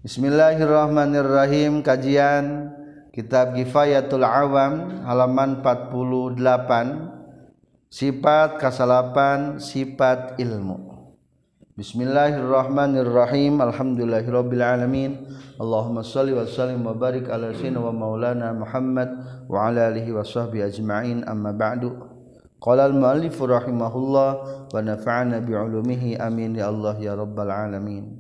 Bismillahirrahmanirrahim. Kajian Kitab Kifayatul Awam halaman 48. Sifat kasalapan sifat ilmu. Bismillahirrahmanirrahim. Alhamdulillahirabbil alamin. Allahumma shalli wa sallim wa barik ala sayyidina wa maulana Muhammad wa ala alihi wa sahbihi ajma'in. Amma ba'du. Qala al-muallif rahimahullah wa nafa'ana bi 'ulumihi amin ya Allah ya rabbal alamin.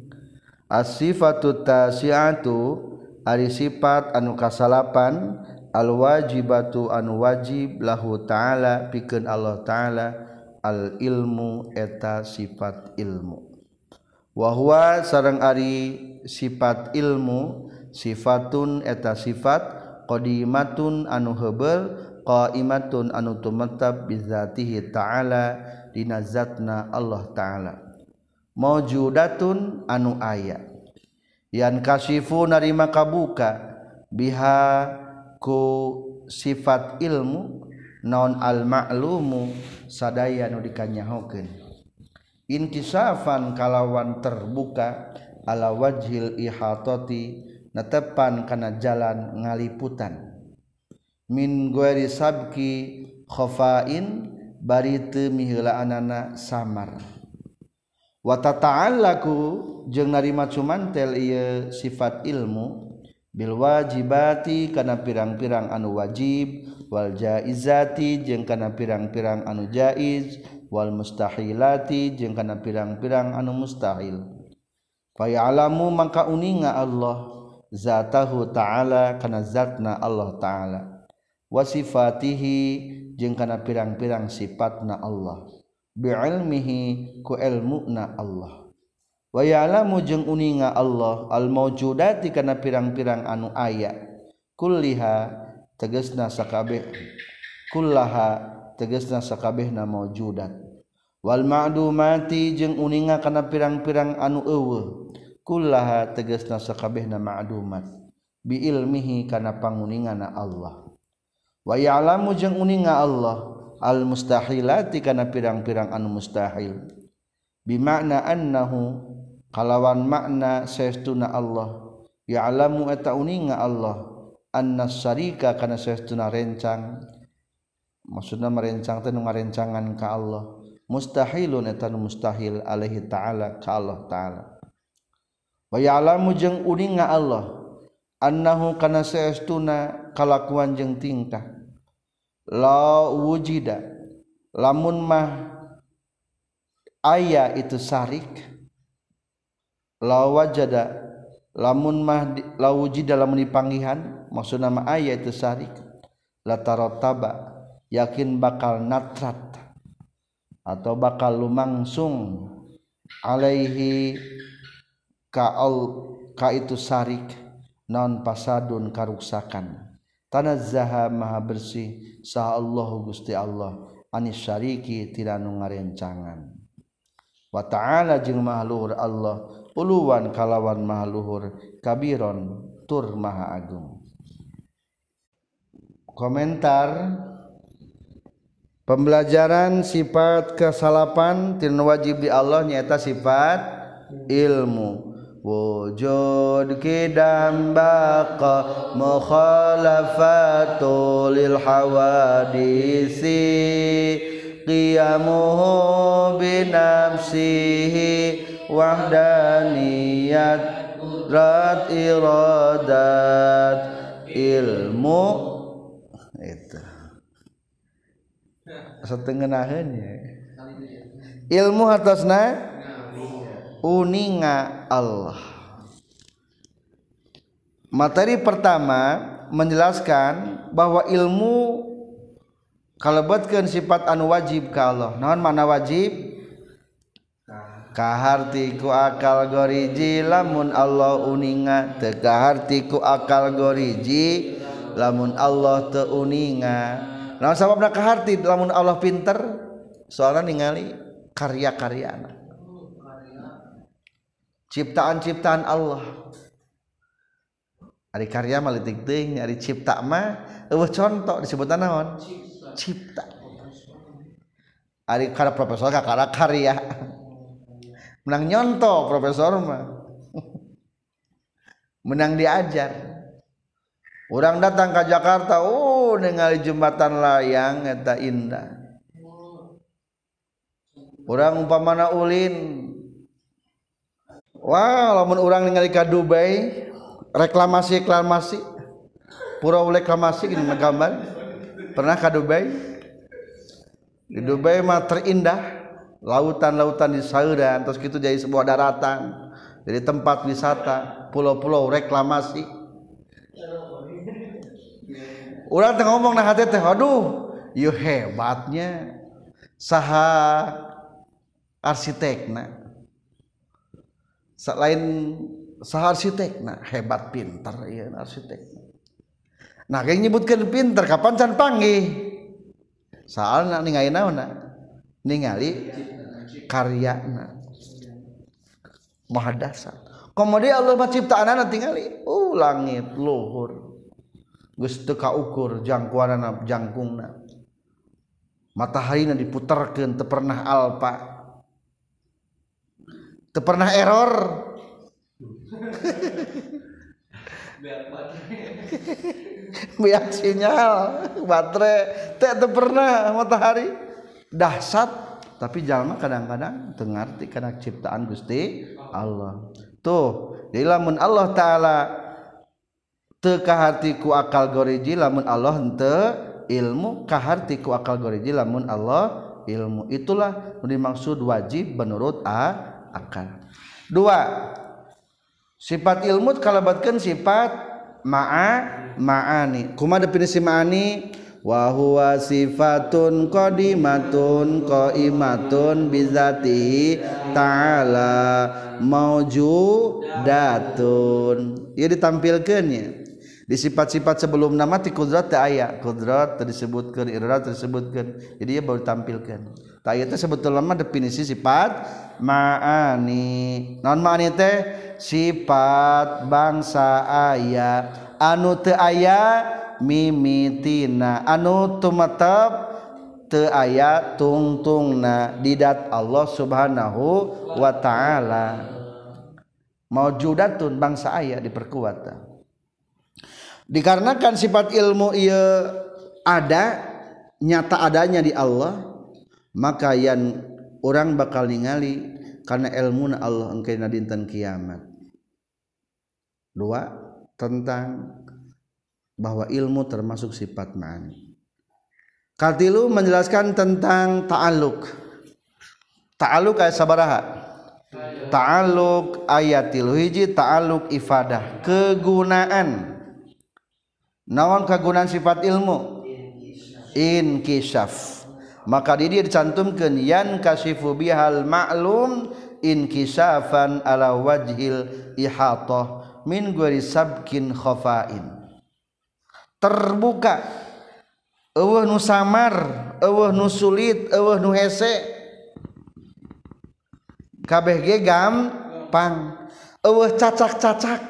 As-sifatu tasi'atu ari sifat anu kasalapan al-wajibatu anu wajib lahu ta'ala pikeun Allah ta'ala al-ilmu eta sifat ilmu wa huwa sareng ari sifat ilmu sifatun eta sifat qadimatun anu heubeul qaimatun anu tumatab bizatihi ta'ala dina zatna Allah ta'ala maujudatun anu aya yan kasifu narima kabuka biha ku sifat ilmu naon al ma'lumu sadaya anu dikanyahokeun inkisafan kalawan terbuka ala wajhil ihatati netepan kana jalan ngaliputan min ghairi sabki khafain bari teu miheulaanana samar wa tata'allaku jeung narima cumantel ieu sifat ilmu bil wajibati kana pirang-pirang anu wajib wal jaizati jeung kana pirang-pirang anu jaiz wal mustahilati jeung kana pirang-pirang anu mustahil fa ya'lamu maka uninga Allah zatahu ta'ala kana zatna Allah ta'ala wa sifatihi jeung kana pirang-pirang sifatna Allah bi'ilmihi ku ilmuna Allah wa ya'lamu jeung uninga Allah al mawjudati kana pirang-pirang anu aya kulliha tegasna sakabeh kullaha tegasna sakabehna mawjudat wal ma'dumati jeung uninga kana pirang-pirang anu eueuh kullaha tegasna sakabehna ma'dumat bi ilmihi kana panguningana Allah wa ya'lamu jeung uninga Allah al mustahilati kana pirang-pirang anu mustahil bimakna annahu kalawan makna saestuna Allah ya'lamu eta uninga Allah anna syarika kana saestuna rencang maksudna merencang teh nu ngarencangan ka Allah mustahilun eta nu mustahil alaihi ta'ala ka Allah ta'ala wa ya'lamu jeung uninga Allah annahu kana saestuna kalakuan jeung tingkah la wujida lamun mah aya itu sarik la wajada lamun mah la wujida lamun dipanggihan maksudna mah aya itu sarik la tarataba yakin bakal natrat atau bakal lumangsung alaihi ka itu sarik non pasadun karuksakan tanazzaha maha bersih sa Allahu Gusti Allah anis syariki tidak nu ngarencangan wa ta'ala jeung maha luhur Allah uluwan kalawan maha luhur kabiron tur maha agung. Komentar pembelajaran sifat kesalapan tina wajib di Allah nyaeta sifat ilmu wujud kidam baqa mukhalafatu lil hawadisi qiyamuhu binafsihi wahdaniyat rat iradat ilmu itu satengenaheun ya ilmu atasna uninga Allah. Materi pertama menjelaskan bahwa ilmu kalebetkeun sifat anu wajib ka Allah. Naon mana wajib? Kaharti ku akal goriji lamun Allah uninga, teu kaharti ku akal goriji lamun Allah teu uninga. Naon sababna kaharti lamun Allah pinter? Soalna ningali karya-karyana. Ciptaan-ciptaan Allah. Ari karya mah leutik teuing, ari cipta mah eueuh contoh disebutna naon? Cipta. Ari kana profesor kakara karya. Menang nyontoh profesor mah. menang diajar. Orang datang ke Jakarta, ningali jembatan layang eta indah. Orang umpamana ulin, wah lamun orang ningali ka Dubai, reklamasi pulau reklamasi gini gambar. Pernah ke Dubai? Di Dubai mah terindah, lautan-lautan di sauran, terus gitu jadi sebuah daratan, jadi tempat wisata, pulau-pulau reklamasi. Urang teh ngomong nah hati teh, aduh, ieu hebatnya saha arsitekna. Selain saha arsitekna, hebat pintar ieu arsitekna. Nah, kayak nyebutkeun pintar kapan can panggih. Soalna ningali naonna? Ningali karyana. Maha dasar. Kemudian Allah ciptaanana tingali, langit luhur. Geus teu kaukur jangkuanana jangkungna. Mataharina diputerkeun teu pernah alpa. Teu pernah error. Biar sinyal baterai teu pernah matahari dahsyat, tapi jalma kadang-kadang teu ngarti kana ciptaan Gusti Allah. Tuh, jadi lamun Allah taala teu kaharti ku akal goriji, lamun Allah henteu ilmu, kaharti ku akal goriji lamun Allah ilmu. Itulah dimaksud wajib menurut akal. Dua, sifat ilmu kalabatkeun sifat ma'ani. Kumaha definisi ma'ani? Wa huwa sifatun qadimatun qaimatun bizatihi ta'ala maujudatun. Ieu ditampilkeun nya. Di sifat-sifat sebelum nama ti kudrat teu aya. Kudrat teu disebutkeun, irodat teu disebutkeun. Jadi ieu baru ditampilkeun. Tah ieu teh sebetulna mah definisi sifat ma'ani. Naon ma'ani teh? Sifat bangsa aya anu teu aya mimitina, anu tumetep teu aya tungtungna di dat Allah Subhanahu wa taala. Maujudatun bangsa aya diperkuat. Dikarenakan sifat ilmu ieu ada, nyata adanya di Allah, maka yan orang bakal ningali karena ilmuna Allah engkeuna dinten kiamat. Dua, tentang bahwa ilmu termasuk sifat ma'ani. Katilu menjelaskan tentang ta'alluq. Ta'alluq ayat sabaraha? Ta'alluq ayatil hiji ta'alluq ifadah, kegunaan. Naon kegunaan sifat ilmu? Inkishaf. Maka di dia dicantumkeun yan kasifu bihal ma'lum inkishafan ala wajhil ihatah min ghairi sabkin khafain. Terbuka eueuh nu samar, eueuh nu sulit, eueuh nu hese, kabeh ge gampang. Eueuh cacak-cacak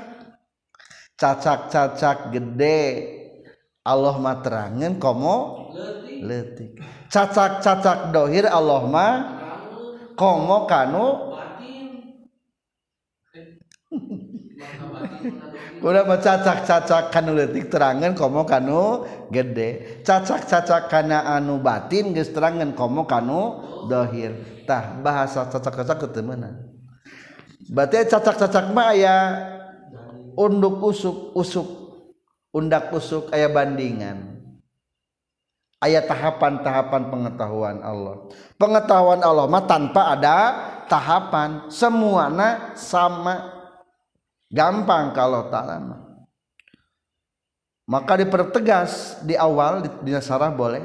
gede Allah mah terangeun komo leutik. Cacak-cacak dohir Allah mah komo kanu udah mah cacak-cacak kanu leutik terangeun komo kanu gede. Cacak-cacak kana anu batin geus terangeun komo kanu dohir. Tah bahasa cacak-cacak teu meunang. Berarti cacak-cacak mah aya unduk usuk, undak usuk aya bandingan. Aya tahapan-tahapan pengetahuan Allah. Pengetahuan Allah mah tanpa ada tahapan, semuanya sama. Gampang kalau ta'ala. Maka dipertegas di awal di nasarah boleh.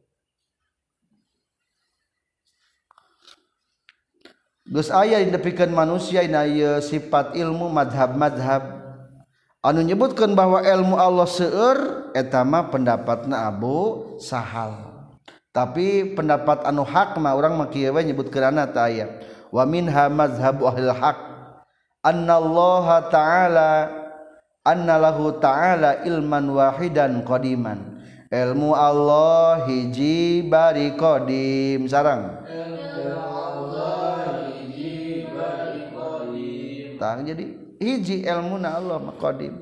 Geus aya dipikeun manusia ina ieu sifat ilmu madhab-madhab anu nyebutkeun bahwa ilmu Allah seueur eta mah pendapatna Abu Sahal. Tapi pendapat anu hak mah urang mah kieu we nyebutkeunana teh aya. Wa minha mazhabu ahlil haq annallaha ta'ala annalahu ta'ala ilman wahidan qadiman. Ilmu Allah hiji bari qadim sareng. Ilmu Allah hiji bari qadim. Tah jadi hiji ilmuna Allah maqadim.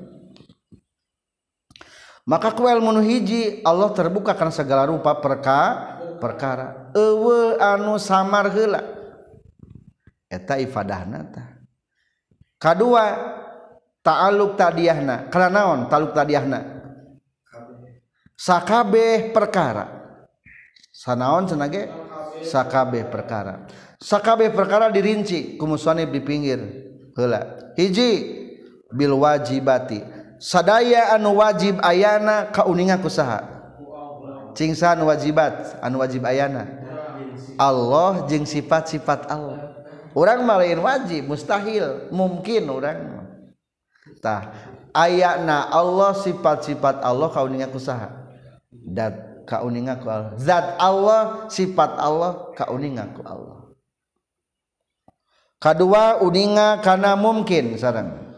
Maka ku ilmu nu hiji Allah terbuka kana segala rupa perkara eueuh anu samar heula eta ifadahna tah. Kadua ta'alluq tadiyahna kana naon ta'alluq tadiyahna sakabeh perkara sanaon cenah ge sakabeh perkara dirinci ku musannif di pinggir heula. Hiji bil wajibati sadaya anu wajib ayana kauninga kusaha cing anu wajibat anu wajib ayana Allah jeung sifat-sifat Allah. Urang mah lain wajib mustahil mungkin urang tah ayana Allah sifat-sifat Allah kauninga kusaha dat kauninga ku Allah zat Allah sifat Allah kauninga ku Allah. Kadua uninga kana mungkin sareng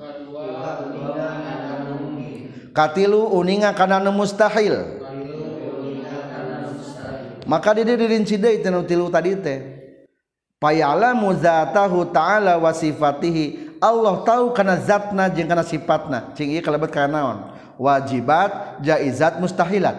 katilu uninga kana mustahil. Maka di dirinci deui teh tilu tadi teh payalamu zatahu ta'ala wa sifatihi Allah tahu kana zatna jeung kana sifatna cing ieu kalebet kana naon wajibat jaizat mustahilat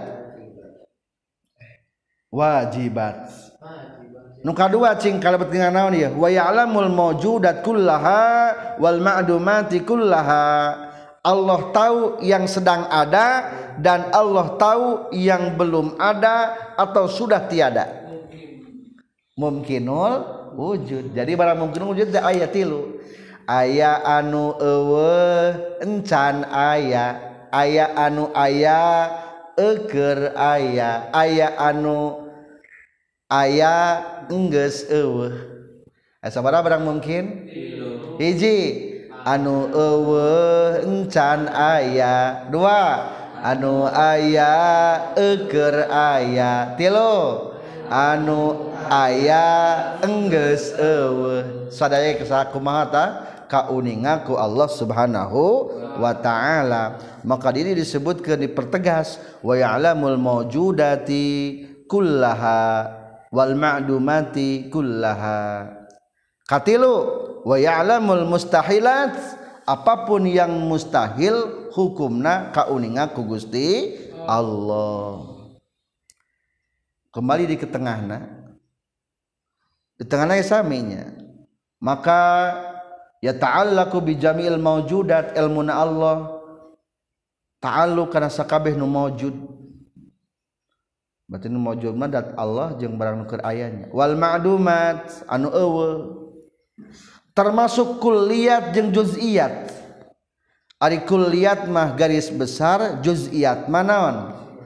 wajibat nu kadua cing kalebet dengan naon ieu wa ya'lamul mawjudat kullaha wal ma'dumati kullaha Allah tahu yang sedang ada dan Allah tahu yang belum ada atau sudah tiada. Mungkinul wujud. Jadi barang mungkinul wujud teh aya tilu. Aya anu eueuh encan aya, aya anu aya eukeur aya, aya anu aya enggeus eueuh. Sabaraha barang mungkin? Tilu. Hiji anu eueuh encan aya, dua anu aya eukeur aya, tilu anu aya enggeus eueuh. Sadaya kumaha tah kauninga ku Allah Subhanahu wa taala. Maka ini disebutkeun dipertegas wa ya'lamul mawjudati kullaha wal ma'dumati kullaha. Katilu wa ya'lamul mustahilat apapun yang mustahil hukumna kauninga ku Gusti Allah. Kembali di ketengahna di tengahna saminya maka ya ta'allaqu bi jami'il mawjudat ilmuna Allah ta'alluq kana sakabeh nu mawjud berarti nu mawjud mah dat Allah jeung barang nu keur ayanya wal ma'dumat anu eueuh termasuk kulliyat jeung juz'iyat. Ari kulliyat mah garis besar, juz'iyat mah naon?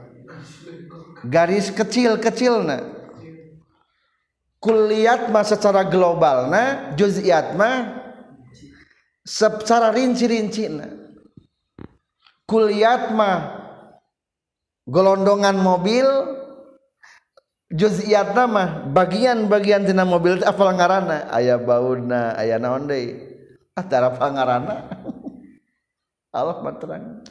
Garis kecil-kecilna. Kulliyat mah secara globalna, juz'iyat mah secara rinci-rincina. Kulliyat mah golondongan mobil, juz'iyatna mah bagian-bagian tina mobil teh apal ngaranna aya bauna aya naon deui tara pangaranna Allah mah terang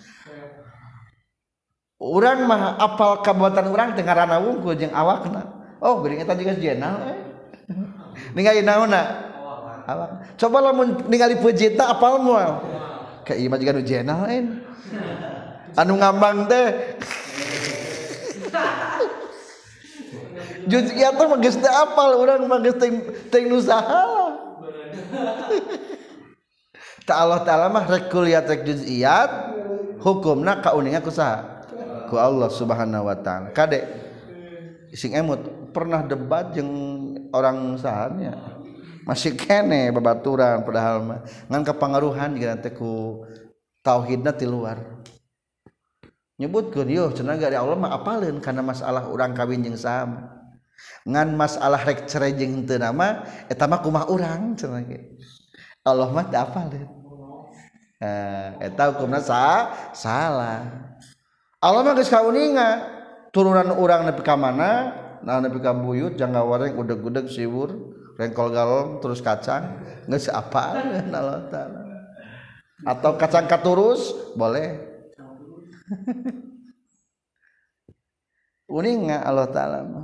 urang mah apal kabuatan urang teh ngaranna wungkul jeung awakna oh geuning eta juga jenal ningali naonna awak coba lamun ningali peujitna apal moal ka ieu mah juga nu jenal anu ngambang teh juz'iyat mah geus teu apal urang mah geus teu nusaha. Ta Allah taala mah rek kulliyat rek juz'iyat hukumna kauninga ku saha? Ku Allah Subhanahu wa taala. Kade sing emut pernah debat jeung orang sahanya. Masih kene babaturan padahal mah ngan kapangaruhan jeung teh ku tauhidna ti luar. Nyebutkeun yeuh cenah dari Allah mah apaleun kana masalah urang kawin jeung saha. Ngan masalah rek cerai jeung henteu nama eta mah kumaha urang cenah ge Allah mah teu apaleun eta hukumna salah Allah mah geus kauninga turunan urang nepi ka mana nah nepi ka buyut jangga wareng udeg-udeg siwur rengkol galon terus kacang geus apaleun Allah taala atau kacang katurus boleh uninga Allah taala mah.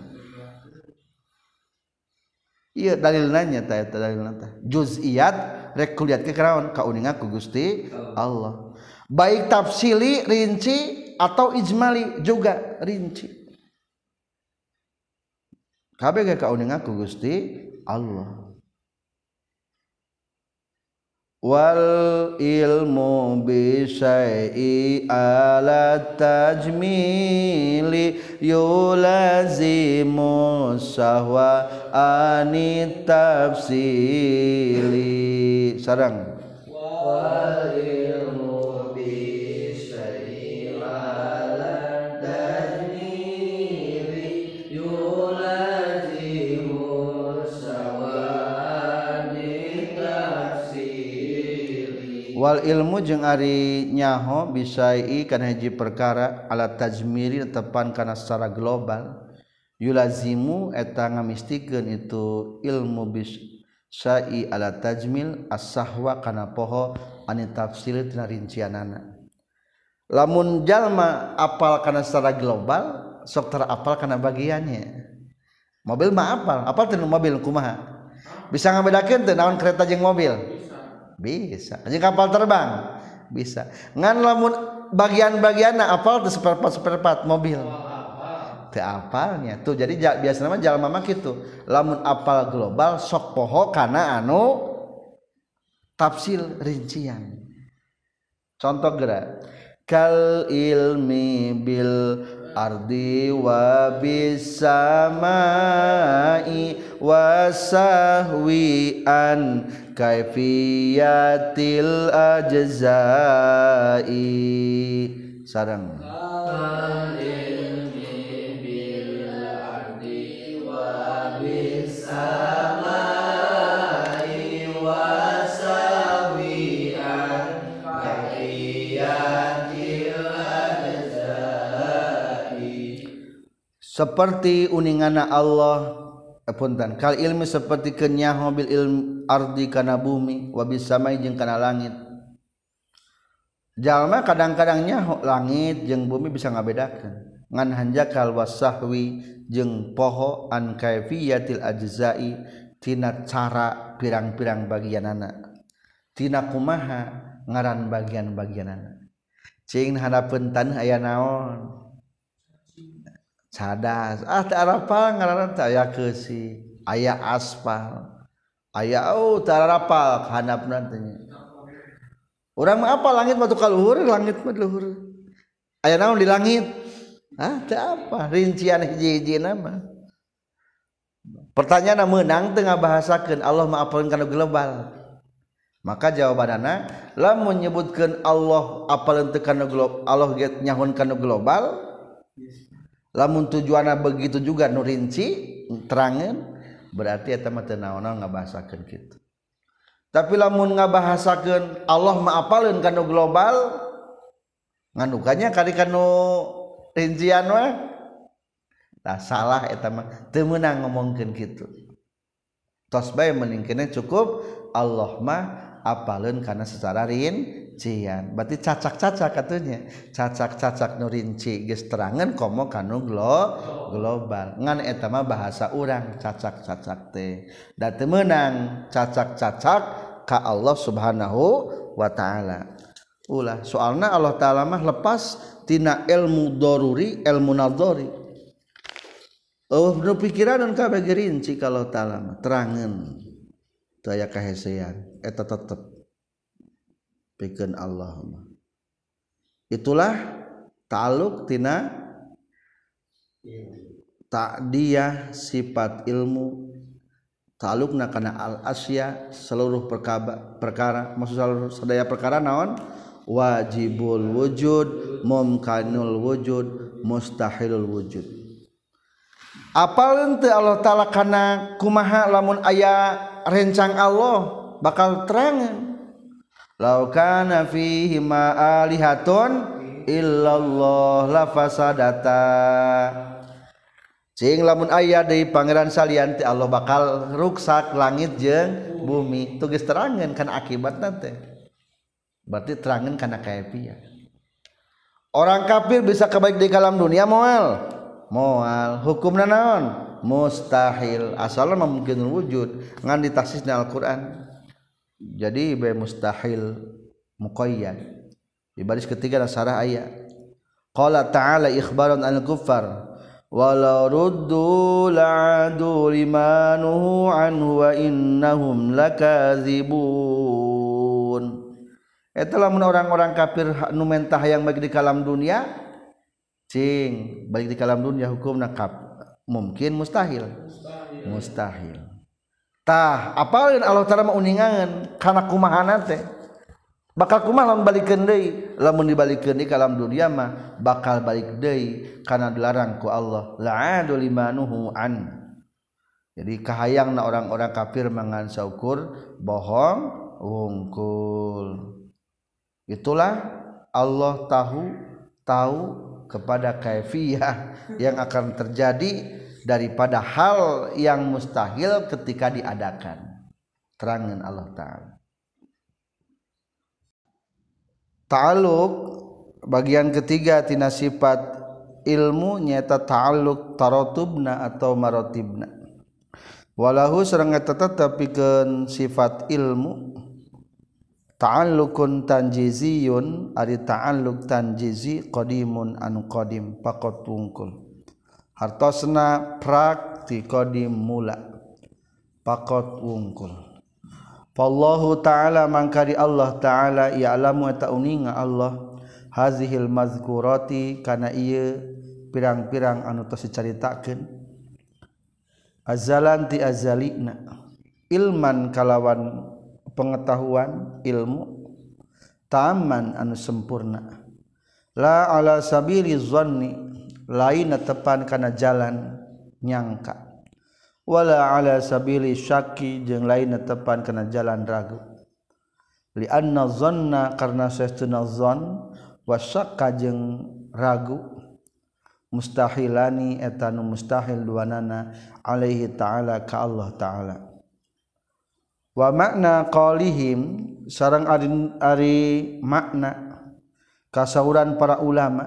Iya dalilna nya tah eta dalilna tah juz'iyat rek kulihat ke keraon kauningan ku Gusti Allah baik tafsili rinci atau ijmali juga rinci kabeh ge kauningan ku Gusti Allah wal ilmu bi syai'i ala tajmili yulazimu sahwa anit tafsili sareng wal ilmu bi syai'i ala tajmili yulazimu wal ilmu jeung ari nyaho bisai kana hiji perkara ala tajmiri tepan kana secara global yulazimu eta ngamistikeun itu ilmu bisai ala tajmil as-sahwa kana poho ani tafsir tina rincianana lamun jalma apal kana secara global sok tara apal kana bagiannya mobil mah apal teu mobil kumaha bisa ngabedakeun teu naon kereta jeung mobil bisa jeung kapal terbang bisa ngan lamun bagian-bagianna apal teu seperempat mobil teu apalnya tuh jadi biasana mah jalma mah kitu lamun apal global sok poho kana anu tafsil rincian contoh geura kal ilmi bil ardi wa bis samai wasahwi an kaifiyatil ajzai sareng ilmi bil ardi wa bis samai wasahwi an kaifiyatil ajzai seperti uningana Allah punten kal ilmi seperti kenyaho bil ilm ardi kana bumi wa bis samai jeung kana langit jalma kadang-kadang nyaho langit jeung bumi bisa ngabedakeun ngan hanjakal wasahwi jeung poho an kaifiyatil ajzai tina cara pirang-pirang bagianana tina kumaha ngaran bagian-bagianana cing hadapeun taneuh aya naon cadas teu arapal ngaranna teh aya keusi aya aspal aya teu arapal handapna teh urang mah apa langit mah tukal luhur langit mah luhur aya naon di langit teu apa rincian hiji-hijina mah pertanyaan meunang teu ngabahasakeun Allah mah apalkeun kana global maka jawabanana lamun nyebutkeun Allah apalkeun teu kana global Allah ge nyahun kana global lamun tujuanna begitu juga nu rinci terangeun berarti eta mah teu naon-naon ngabahasakeun kitu tapi lamun ngabahasakeun Allah mah apaleun kana global nganukanya kali kana rincian mah tah salah eta mah teu meunang ngomongkeun kitu tos bae mending kene cukup Allah mah apaleun kana secara rincian berarti cacak-cacak atunya cacak-cacak nu rinci geus terangeun komo kanu global ngan eta mah bahasa urang cacak-cacak teh da teu meunang cacak-cacak ka Allah Subhanahu wa taala ulah soalna Allah taala mah lepas tina ilmu daruri ilmu nadhari nu pikiran kabeh rinci ka Allah taala mah terangeun teu aya kahesean eta tetep pikeun Allah itulah ta'alluq tina ta'diyah sifat ilmu ta'alluqna kana al asya seluruh perkara maksud seluruh sadaya perkara naon wajibul wujud mumkanul wujud mustahilul wujud apaleun teu Allah taala kana kumaha lamun aya rencang Allah bakal terangeun law kana fihi ma alihatun illallah la fasadata cing lamun aya deui pangeran salian teh Allah bakal ruksak langit jeung bumi tuh geus terangeun kana akibatna teh berarti terangeun kana kaifiyah orang kafir bisa kebaik di alam dunia moal hukumna naon mustahil asalna mungkin wujud ngan ditaksisna Al-Qur'an jadi be mustahil muqayyad. Di baris ketiga nasarah aya qala ta'ala ikhbaran al-kuffar walau ruddu la'adu limanuhu anhu wa innahum lakazibun. Eta lamun orang-orang kafir nu mentah yang bagi di kalam dunia cing balik di kalam dunia hukumna mungkin mustahil tah apalin Allah Ta'ala mauningan kana kumahana teh bakal kumaha lamun balikeun deui lamun dibalikeun di kalam dunia mah bakal balik deui kana dilarang ku Allah la'adu limanuhu an. Jadi kahayangna orang-orang kafir mangan saukur bohong wungkul. Itulah Allah tahu kepada kaifiyah yang akan terjadi daripada hal yang mustahil ketika diadakan. Terangin Allah Ta'ala. Ta'alluq bagian ketiga tina sifat ilmu nyata ta'alluq taratubna atau maratibna. Walahu sareng eta tetepikeun sifat ilmu ta'alluqun tanjiziyun ari ta'alluq tanjizi qadimun anu qadim faqat wungkul hartosna prak ti qadim mula faqat wungkul. Fallahu ta'ala mangkari Allah ta'ala ya'lamu eta uninga Allah hazihil mazkurati kana ieu pirang-pirang anu tos dicaritakeun azalan ti azalina ilman kalawan pengetahuan ilmu taman anu sempurna la ala sabili zanni lain tepan kana jalan nyangka wala ala sabili syaki jeung lain tepan kana jalan ragu li anna zanna karna sesuna zon wa syakka jeung ragu mustahilani eta nu mustahil duanana alaihi ta'ala ka Allah ta'ala. Wa makna qaulihim sareng ari makna kasauran para ulama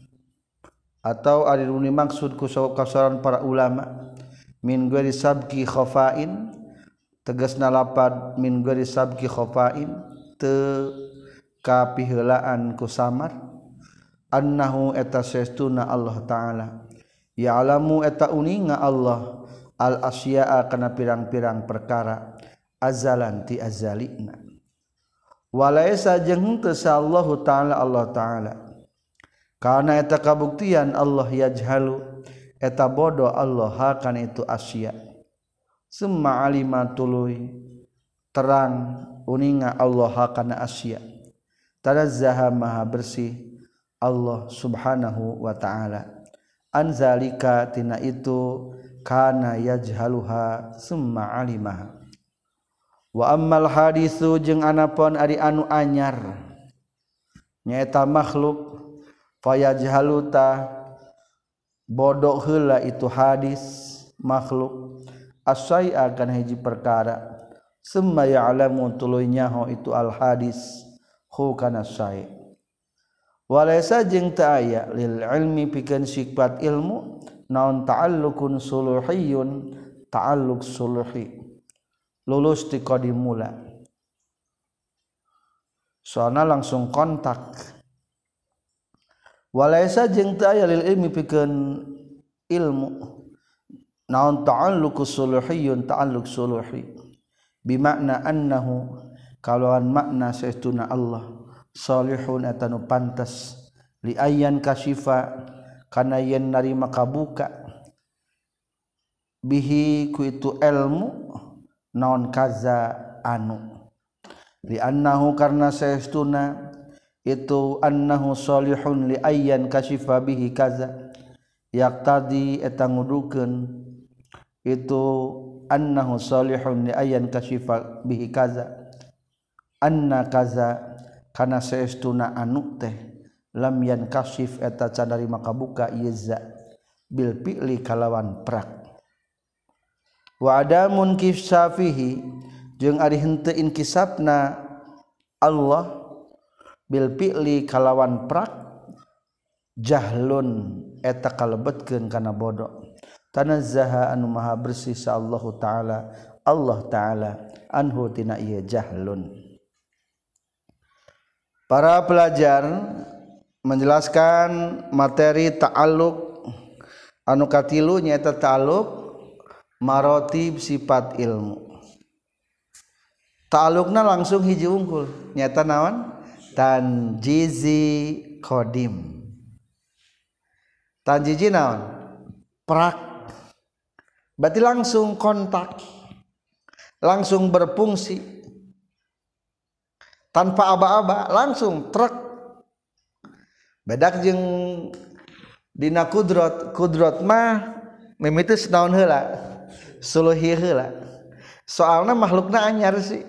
atau ari runi maksud ku kasauran para ulama min ghairi sabqi khafain tegasna lapad min ghairi sabqi khafain teu kapiheulaan ku samar annahu eta sestuna Allah taala ya'lamu eta uninga Allah al asya'a kana pirang-pirang perkara azalan ti azalina walaisa jeung teu sallahu taala Allah taala kana eta kabuktian Allah yajhalu eta bodoh Allah kana itu asya summa alima tuluy terang uninga Allah kana asya tanazzaha maha bersih Allah subhanahu wa ta'ala anzalika tina itu kana yajhaluha summa alimaha. Wa ammal hadisu jeung anapun ari anu anyar nyaeta makhluk fayajhaluta bodoh heula itu hadis makhluk asai'a kana hiji perkara summa ya'lamu tuluy nyaho itu al hadis hu kana sai walaysa jeung teu aya lil ilmi pikeun sifat ilmu naon ta'alluqun suluhiyun ta'alluq suluhi lulus ti qadim mula soalna langsung kontak walaysa jeung teu aya lil ilmi pikeun ilmu naon ta'alluq suluhiyun ta'alluq suluhi bimakna annahu kalawan makna saestuna Allah salihun atanu pantas li ayyan kasyifa kana yen narima kabuka bihi ku itu ilmu naon kaza anu li annahu karna saestuna itu annahu salihun li ayyan kasyifa bihi kaza yaqtadi eta ngudukeun itu annahu salihun li ayyan kasyifa bihi kaza anna kaza kana saestuna anu teh lam yan kasyif eta can narima kabuka iza bil fi'li kalawan prak wa adamun kissafihi jeung ari henteu inkisapna Allah bil fi'li kalawan prak jahlun eta kalebetkeun kana bodoh tanazzaha anu maha bersih sa Allah taala Allah taala anhu tina ieu jahlun. Para pelajar menjelaskan materi ta'alluq anu katilu nyaeta ta'alluq maratib sifat ilmu. Ta'alluqna langsung hiji unggul nyaeta naon? Tanjizi qadim. Tanjizi naon? Prak. Berarti langsung kontak. Langsung berfungsi. Tanpa aba-aba langsung truk. Bedak jeung dina kudrat mah mimitus naon heula suluhi heula soalna makhlukna anyar sih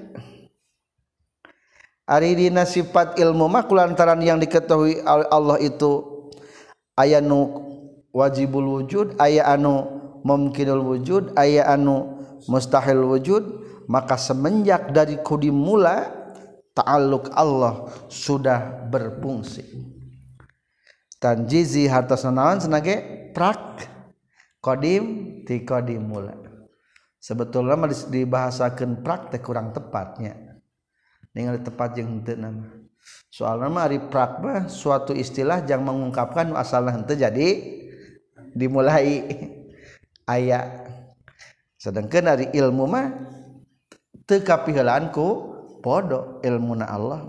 ari dina sifat ilmu mah kulantaran yang diketahui Allah itu aya nu wajibul wujud aya anu mumkinul wujud aya anu mustahil wujud maka semenjak dari kudim mula ta'alluq Allah sudah berfungsi. Tanjizi hartosna naon senage prak qadim ti qadim mula. Sebetulna mah dibahasakeun prak teh kurang tepatnya. Ningali tepat jeung henteu nama. Soalna mah ari prak mah suatu istilah yang mengungkapkan asalna henteu jadi dimulai aya. Sedangkan ari ilmu mah teu kapiheulaan ku podo ilmuna Allah.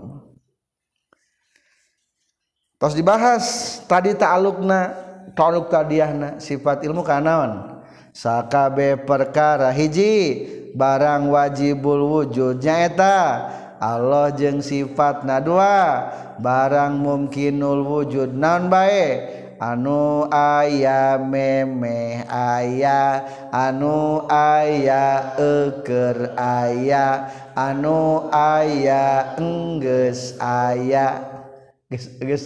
Tos dibahas tadi ta'alluq tadiahna sifat ilmu kana naon? Sakabe perkara hiji barang wajibul wujud nyaeta Allah jeung sifatna dua barang mumkinul wujud naon bae anu aya memeh aya anu aya eukeur aya anu aya enggeus aya geus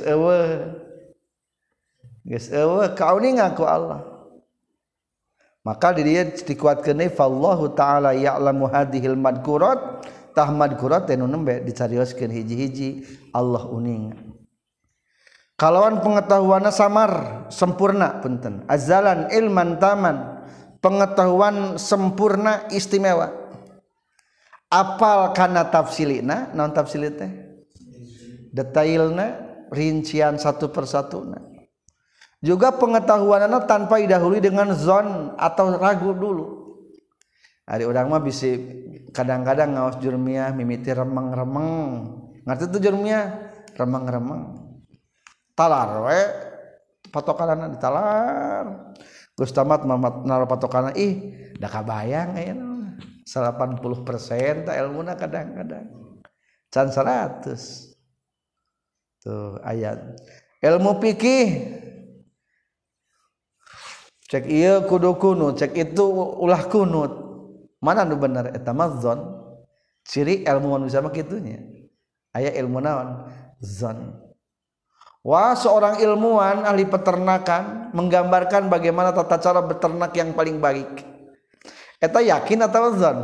eueuh kauningan ku Allah maka di dieu dikuatkeun fallahu taala ya'lamu hadhil madkurat tah madkurat teh nu nembe dicarioskeun hiji-hiji Allah uningan kalawan pengetahuanna samar sempurna punten azalan ilman taman pengetahuan sempurna istimewa apal kana tafsilina naon tafsil teh detailna rincian satu persatuna juga pengetahuanna tanpa didahului dengan zon atau ragu dulu ari urang mah bisi kadang-kadang ngaos jurmiah mimiti remeng-remeng ngarti tuh jurmiah remeng-remeng talar we patokanana ditalar Gus tamat naruh patokanana ih da kabayang aya 80% ta ilmuna kadang-kadang can 100 tuh ayat ilmu fikih cek ieu kudu kunut cek itu ulah kunut mana nu bener eta mah zon ciri ilmuwan bisa mah kitunya aya ilmu naon zon. Wah seorang ilmuwan ahli peternakan menggambarkan bagaimana tata cara beternak yang paling baik. Eta yakin atau zon?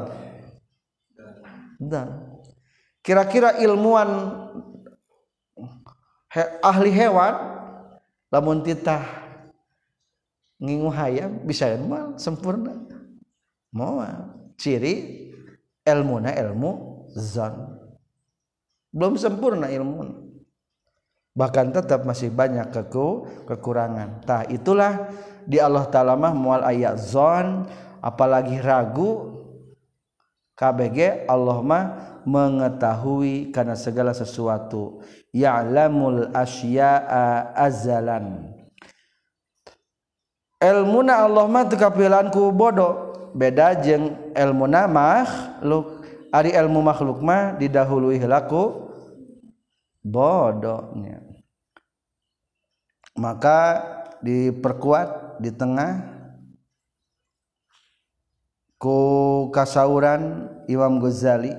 Zon. Kira-kira ilmuwan ahli hewan lamun titah ngingu hayam bisa mah sempurna. Moal ciri ilmuna ilmu zon. Belum sempurna ilmu. Bahkan tetap masih banyak kekurangan. Tah itulah di Allah Ta'ala mah moal aya zon apalagi ragu KBG Allah mah mengetahui karena segala sesuatu ya'lamul asya'a azalan ilmuna Allah mah teu kapieulaan ku bodoh beda jeung ilmuna makhluk ari ilmu makhluk mah didahului heula ku bodohnya maka diperkuat di tengah ku kasauran Imam Ghazali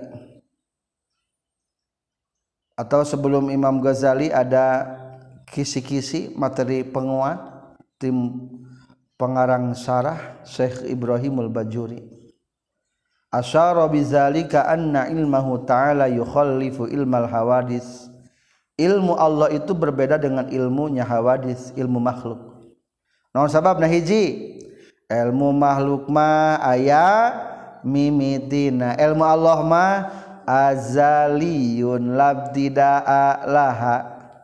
atau sebelum Imam Ghazali ada kisi-kisi materi penguat tim pengarang syarah Syekh Ibrahimul Bajuri asyara bizalika anna ilmahu ta'ala yukhallifu ilmal hawadis ilmu Allah itu berbeda dengan ilmunya hawadis ilmu makhluk naon sababna hiji ilmu makhluk mah aya mimitina ilmu Allah mah azaliyun labtidaa laha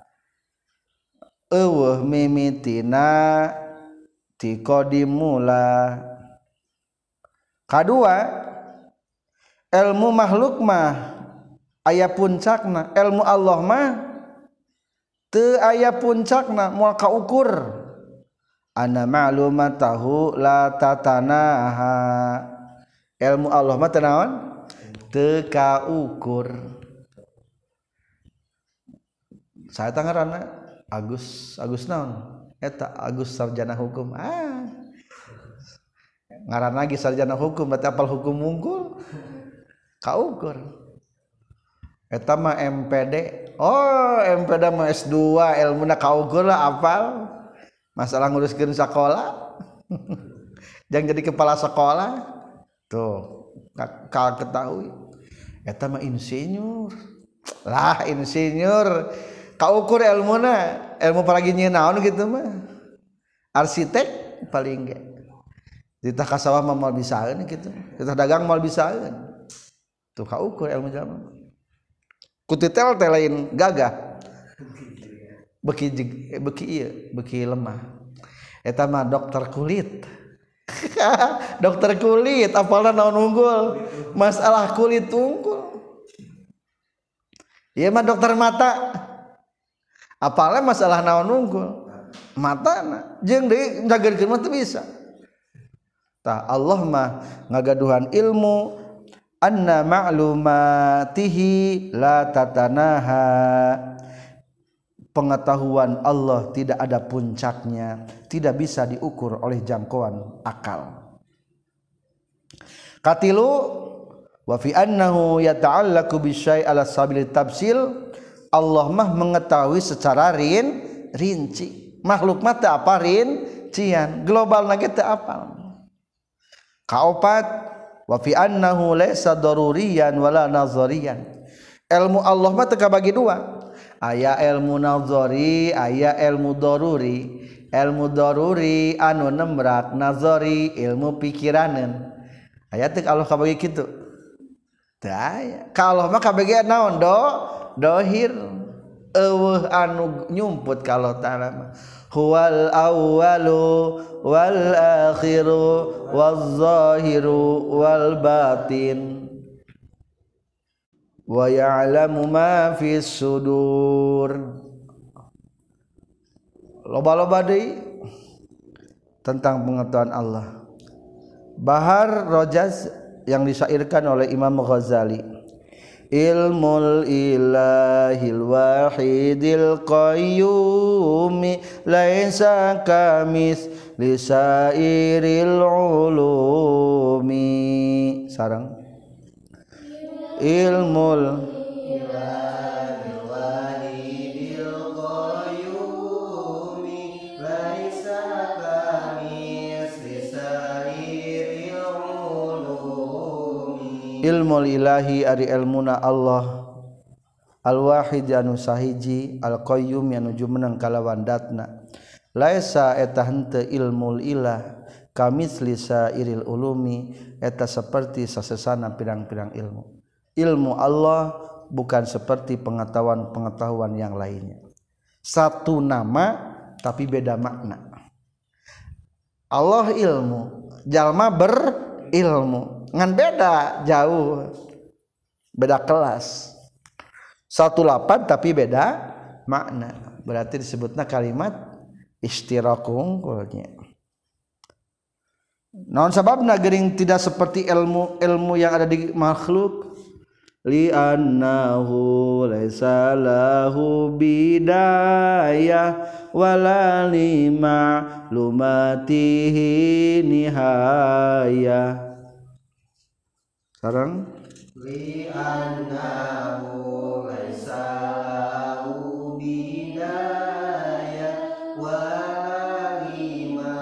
mimitina ti qadimula. Kadua ilmu makhluk mah aya puncakna, ilmu Allah mah teu aya puncakna moal kaukur. Ana ma'lumatahu la tatanaha. Ilmu Allah mah teu naon? Teu kaukur. Saeta ngaranna Agus naon? Eta Agus sarjana hukum. Ngaran lagi sarjana hukum berarti apal hukum unggul. Kaukur. Eta mah MPD. Oh, MPD mah S2 ilmuna kaukur lah apal. Masalah nguruskeun sekolah. Jangan jadi kepala sekolah. Tuh, kal ketahui. Eta mah insinyur. Lah insinyur. Kaukur ilmuna, ilmu paragi naon gitu mah. Arsitek paling ge. Ditah ka sawah mah moal bisaeun kitu. Ditah dagang moal bisaeun. Tuh kaukur ilmu jalma. Ku titel teh lain gagah. Beki lemah. Eta mah dokter kulit. Dokter kulit apalna naon unggul? Masalah kulit unggul. Ieu mah dokter mata. Apalna masalah naon unggul? Matana. Jeung deui jageurkeun mah teu bisa. Tah Allah mah ngagaduhan ilmu anna ma'lumatihi la tatanaha. Pengetahuan Allah tidak ada puncaknya, tidak bisa diukur oleh jangkauan akal. Katilu wa fi annahu yata'allaqu bisyai' ala sabil tafsil. Allah mah mengetahui secara rinci. Makhluk mah teu apa rincian, globalna ge teu apal. Kaopat wa fi annahu laysa daruriyan wala nazariyan. Ilmu Allah mah teu kabagi dua. Aya ilmu nazari, aya ilmu daruri. Ilmu daruri anu nembrak, nazari ilmu pikiraneun. Aya teu Allah kabagi kitu. Teu aya. Ka Allah mah kabagi naon dohir eueuh anu nyumput ka Allah taala mah. Huwal awwalu wal akhiru waz zahiru wal batin wa ya'lamu ma fis sudur. Loba-loba deui tentang pengetahuan Allah. Bahar Rojaz yang disyairkan oleh Imam Ghazali. Ilmul ilahil wahidil qayyumi laisa kamis lisairil ulumi. Sarang ilmul ilahil wahidil qayyumi laisa kamis lisairil ulumi. Ilmul ilahi ari ilmuna Allah al-wahid anu sahiji al-qayyum anu jumeneng kalawan datna. Laisa eta henteu ilmul ilah kamisli sairil ulumi eta seperti sasesana pirang-pirang ilmu. Ilmu Allah bukan seperti pengetahuan-pengetahuan yang lainnya. Satu nama tapi beda makna. Allah ilmu, jalma berilmu. Ngan beda jauh, beda kelas. Satu lapan tapi beda makna. Berarti disebutnya kalimat istirakum kulnya. Naon sababna geuning tidak seperti ilmu yang ada di makhluk? Li annahu laisa lahu bidayah wala lima lumatihi nihayah. Sekarang li annahu laisa lahu bidayah wala lima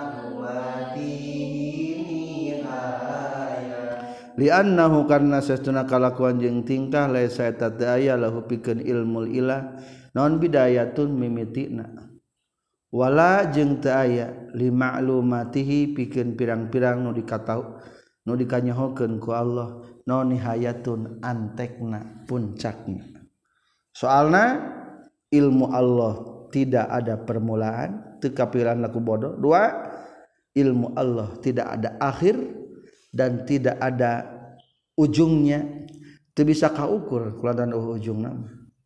lumatihi nihayah. Li annahu karna sesuna kalakuan jeung tingkah laisa eta teu aya lahu pikeun ilmul ilah naon bidayatun mimitina wala jeung teu aya li ma'lumatihi pikeun pirang-pirang nu dikatahu nu dikanyahokeun ku Allah naon nihayatun antekna puncakna. Soalna ilmu Allah tidak ada permulaan, teu kapiran laku bodoh. 2, ilmu Allah tidak ada akhir dan tidak ada ujungnya, teu bisa kaukur kulantaran ujungna.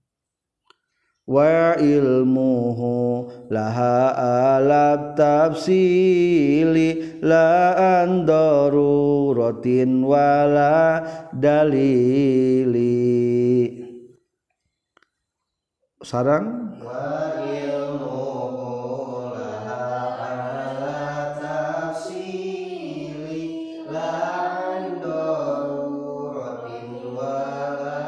Wa ilmuhu laha alat tafsili la an daruratin wala dalili. Sarang wa ilmuhu laha alat tafsili la an daruratin wala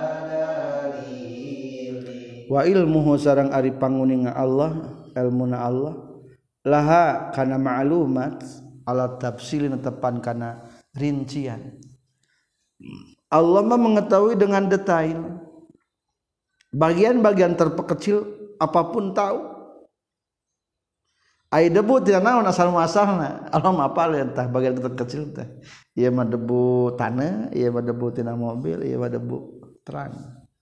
dalili. Wa ilmuhu sarang ari panguninga Allah, ilmuna Allah laha kana ma'lumat ala tafsili netepan kana rincian. Allah mah mengetahui dengan detail bagian-bagian terkecil apapun tahu. Ai debu tina naon asal muasalna Allah mah apal tah bagian terkecil teh. Ieu mah debu tanah, ieu mah debu tina mobil, ieu mah debu terang.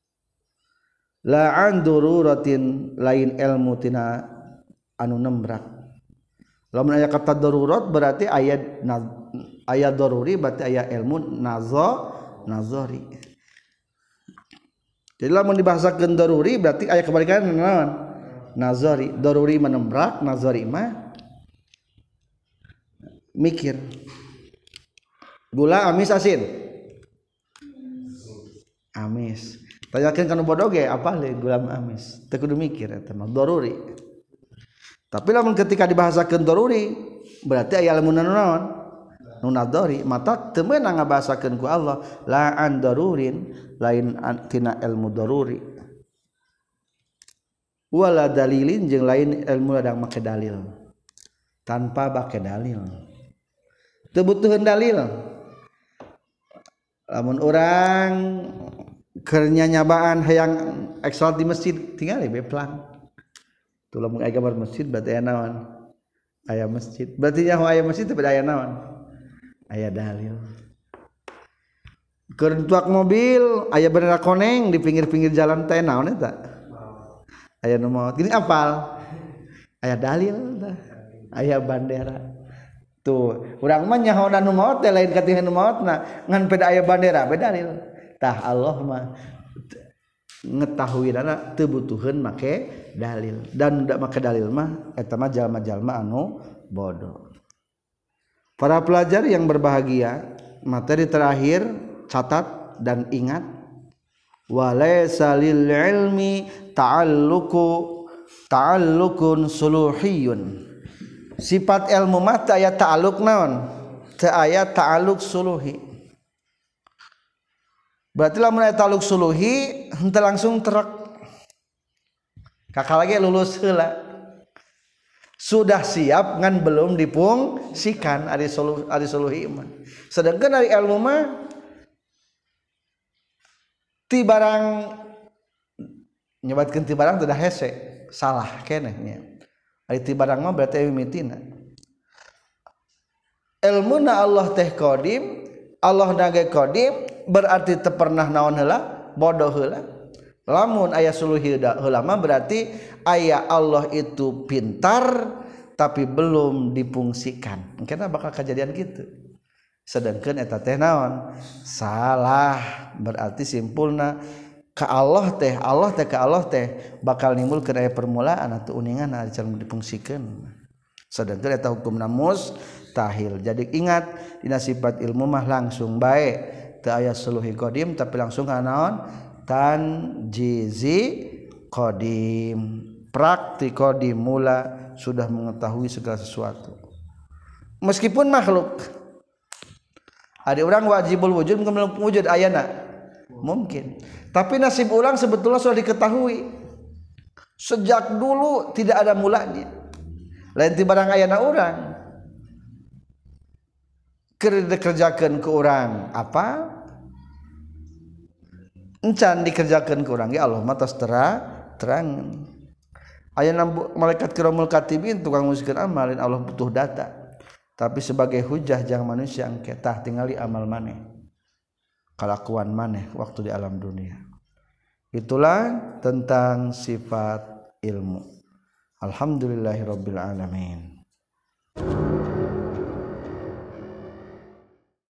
La an daruratin lain ilmu tina anu nembrak. Lamun aya kata darurat berarti aya daruri berarti aya ilmu nazari. Jadi lamun dibahasakeun daruri berarti aya kebalikan naon? Nazari. Daruri menembrak, nazari mah mikir. Gula amis asin? Amis. Tanyakeun kana bodoh ge apa le gula amis? Teu kudu mikir eta mah daruri. Tapi lamun ketika dibahasakeun daruri berarti aya ilmu naon? Nu nadari mata teu meunang ngabahasakeun ku Allah la an darurin lain tina ilmu daruri wala dalilin jeung lain ilmu ladang make dalil tanpa make dalil teu butuheun dalil. Lamun urang keur nyanyabaan hayang salat di masjid tinggal we plan tuh lamun aya gambar masjid berarti aya naon aya masjid berarti nya aya masjid tapi aya naon aya dalil. Keur tuak mobil aya bendera koneng di pinggir-pinggir jalan teh naon eta? Aya nu maot. Gini apal? Aya dalil tah. Aya bandera. Tuh, urang mah nyahoan nu maot teh lain katihan nu maotna, ngan peda aya bandera beda dalil. Tah Allah mah ngetahuinana teu butuheun make dalil. Dan da make dalil mah eta mah jalma-jalma anu bodoh. Para pelajar yang berbahagia, materi terakhir catat dan ingat walaysa lil ilmi ta'allukun suluhiyun. Sifat ilmu mah teu aya ta'alluq naon? Teu aya ta'alluq suluhi. Berarti lamun aya ta'alluq suluhi henteu langsung terek. Kakak lagi lulus heula. Sudah siap ngan belum dipungsikan ari suluhi mah. Sedangkan ari ilmu mah ti barang nyebatkeun ti barang teu da hese, salah keneh nya. Ari ti barang mah berarti mimitina. Ilmuna Allah teh qadim, Allah nage qadim berarti teu pernah naon heula, bodoh heula. Lamun aya suluhi heula mah berarti aya Allah itu pintar tapi belum dipungsikan. Mungkin bakal kejadian gitu. Sedangkan eta teh naon? Salah. Berarti simpulna ka Allah teh ka Allah teh bakal nimbulkeun aya permulaan atau uningan ari cara dipungsikeun. Sedangkan eta hukumna mustahil. Jadi ingat dina sifat ilmu mah langsung bae teu aya suluhi qadim tapi langsung ka naon? Tanjizi qadim. Praktik qadim mula sudah mengetahui segala sesuatu. Meskipun makhluk. Ada orang wajibul wujud mungkin wujud ayana. Mungkin. Tapi nasib orang sebetulnya sudah diketahui. Sejak dulu tidak ada mulanya. Lain ti barang ayana orang. Kerjakan ke orang apa? Encan dikerjakan ke orang ya Allah matas terang. Aya malaikat kiramul katibin tukang ngusikeun amal Allah butuh data. tapi sebagai hujah jangan manusia angketah tingali amal maneh kelakuan maneh waktu di alam dunia. Itulah tentang sifat ilmu. Alhamdulillahirabbil alamin.